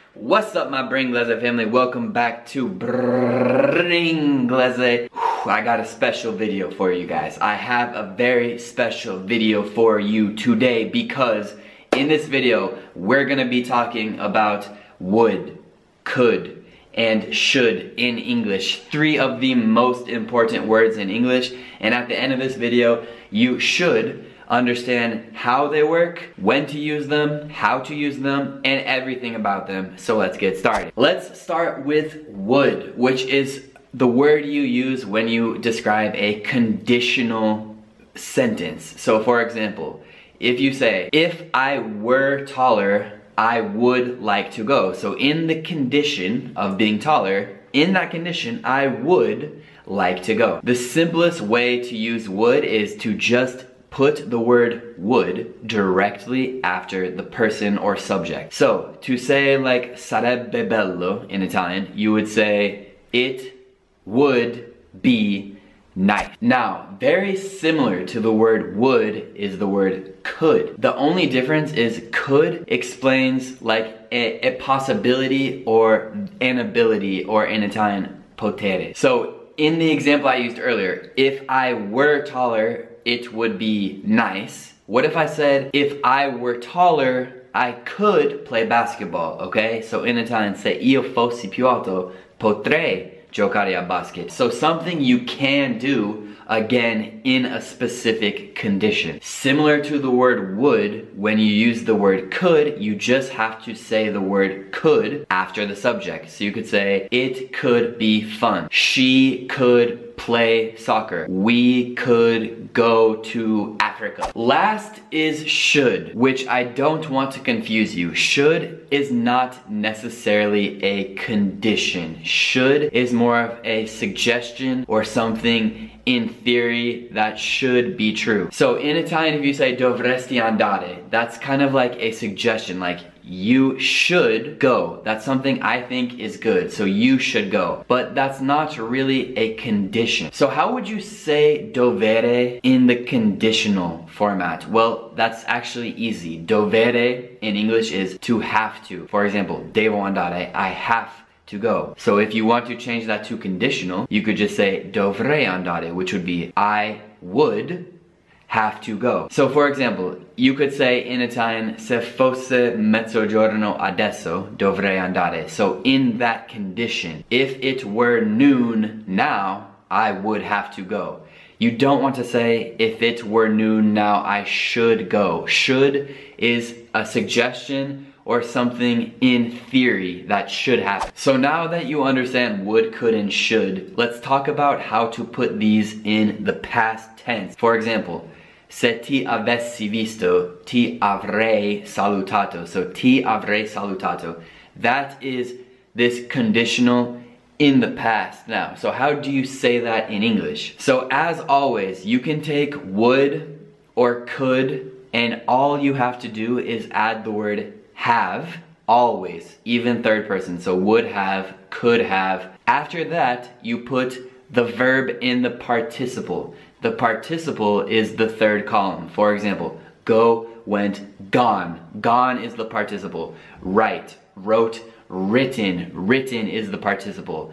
What's up, my Bringlese family? Welcome back to Bringlese. I got a special video for you guys. I have a very special video for you today because in this video, we're gonna be talking about would, could, and should in English. 3 of the most important words in English. And at the end of this video, you should understand how they work, when to use them, how to use them, and everything about them. So let's get started. Let's start with would, which is the word you use when you describe a conditional sentence. So for example, if you say, if I were taller, I would like to go. So in the condition of being taller, in that condition, I would like to go. The simplest way to use would is to just put the word would directly after the person or subject. So to say like sarebbe bello in Italian, you would say it would be nice. Now, very similar to the word would is the word could. The only difference is could explains like a possibility or an ability, or in Italian, potere. So in the example I used earlier, if I were taller, it would be nice. What if I said, if I were taller, I could play basketball, okay? So in Italian, se io fossi più alto, potrei giocare a basket. So something you can do, again, in a specific condition. Similar to the word would, when you use the word could, you just have to say the word could after the subject. So you could say, it could be fun. She could play soccer. We could go to Africa. Last is should, which I don't want to confuse you. Should is not necessarily a condition. Should is more of a suggestion or something in theory that should be true. So in Italian, if you say dovresti andare, that's kind of like a suggestion, like you should go. That's something I think is good, so you should go. But that's not really a condition. So how would you say dovere in the conditional format? Well, that's actually easy. Dovere in English is to have to. For example, devo andare, I have to go. So if you want to change that to conditional, you could just say dovrei andare, which would be I would have to go. So for example, you could say in Italian, se fosse mezzogiorno adesso, dovrei andare. So in that condition, if it were noon now, I would have to go. You don't want to say, if it were noon now, I should go. Should is a suggestion or something in theory that should happen. So now that you understand would, could, and should, let's talk about how to put these in the past tense. For example, se ti avessi visto, ti avrei salutato. So ti avrei salutato. That is this conditional in the past now. So how do you say that in English? So as always, you can take would or could, and all you have to do is add the word have, always, even third person. So would have, could have. After that, you put the verb in the participle. The participle is the third column. For example, go, went, gone. Gone is the participle. Write, wrote, written. Written is the participle.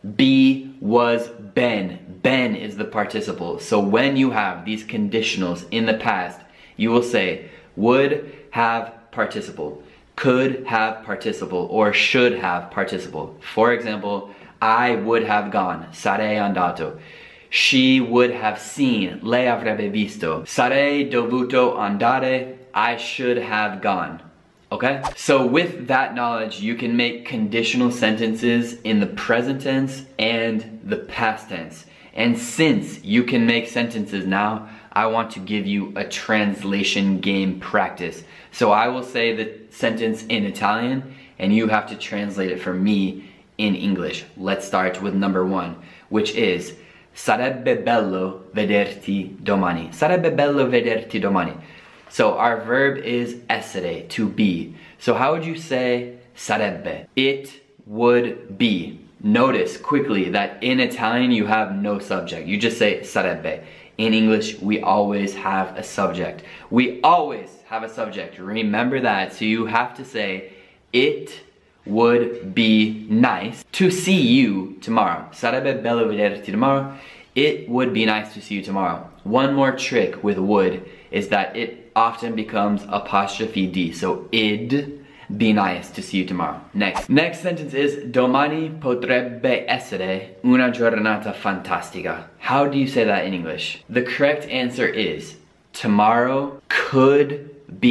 Be, was, been. Been is the participle. So when you have these conditionals in the past, you will say would have participle, could have participle, or should have participle. For example, I would have gone, sarei andato. She would have seen, lei avrebbe visto. Sarei dovuto andare, I should have gone. Okay? So with that knowledge, you can make conditional sentences in the present tense and the past tense. And since you can make sentences now, I want to give you a translation game practice. So I will say the sentence in Italian, and you have to translate it for me in English. Let's start with number 1, which is sarebbe bello vederti domani. Sarebbe bello vederti domani. So our verb is essere, to be. So how would you say sarebbe? It would be. Notice quickly that in Italian you have no subject. You just say sarebbe. In English, we always have a subject. We always have a subject. Remember that. So you have to say, it would be nice to see you tomorrow. Sarebbe bello vederti tomorrow. It would be nice to see you tomorrow. One more trick with would is that it often becomes apostrophe D. So it'd be nice to see you tomorrow. Next sentence is domani potrebbe essere una giornata fantastica. How do you say that in English? The correct answer is tomorrow could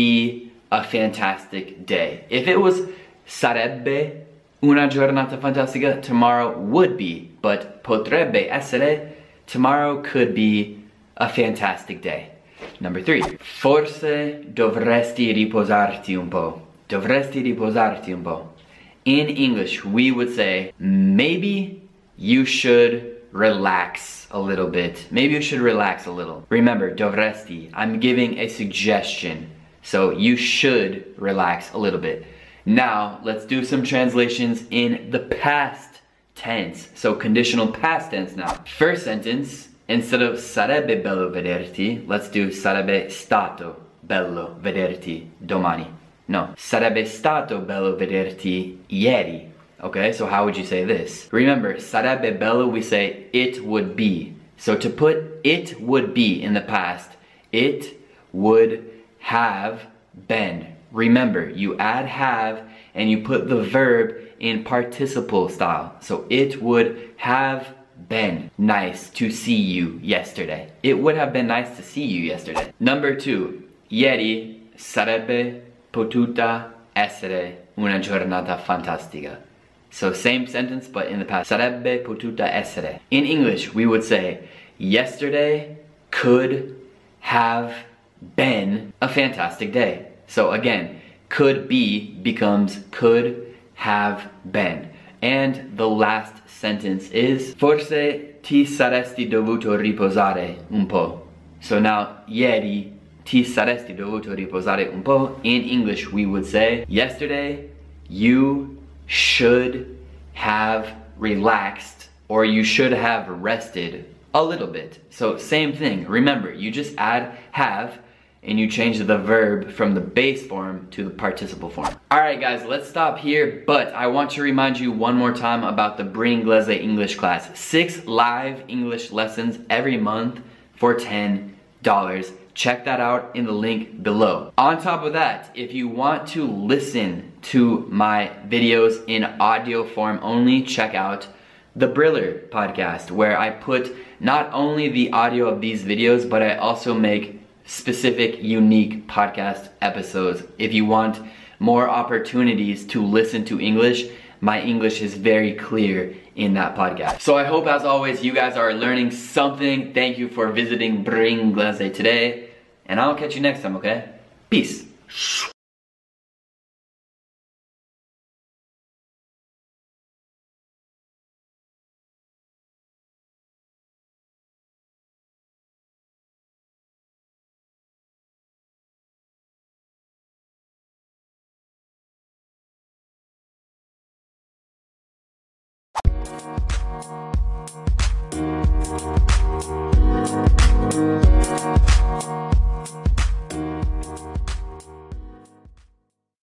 be a fantastic day. If it was sarebbe una giornata fantastica, tomorrow would be, but potrebbe essere, tomorrow could be a fantastic day. Number 3, forse dovresti riposarti un po'. Dovresti riposarti un po'. In English, we would say, maybe you should relax a little bit. Maybe you should relax a little. Remember, dovresti, I'm giving a suggestion. So you should relax a little bit. Now, let's do some translations in the past tense. So conditional past tense now. First sentence, instead of sarebbe bello vederti, let's do sarebbe stato bello vederti domani. No, sarebbe stato bello vederti ieri. Okay, so how would you say this? Remember, sarebbe bello, we say it would be. So to put it would be in the past, it would have been. Remember, you add have and you put the verb in participle style. So it would have been nice to see you yesterday. It would have been nice to see you yesterday. Number 2, ieri sarebbe potuta essere una giornata fantastica. So same sentence but in the past. Sarebbe potuta essere. In English, we would say yesterday could have been a fantastic day. So again, could be becomes could have been. And the last sentence is forse ti saresti dovuto riposare un po'. So now, ieri ti saresti dovuto riposare un po'. In English, we would say yesterday you should have relaxed or you should have rested a little bit. So same thing. Remember, you just add have and you change the verb from the base form to the participle form. Alright guys, let's stop here, but I want to remind you one more time about the Bringlese English class. 6 live English lessons every month for $10. Check that out in the link below. On top of that, if you want to listen to my videos in audio form only, check out the Briller podcast, where I put not only the audio of these videos, but I also make specific, unique podcast episodes. If you want more opportunities to listen to English, my English is very clear in that podcast. So I hope, as always, you guys are learning something. Thank you for visiting Bringlese today, and I'll catch you next time, okay? Peace.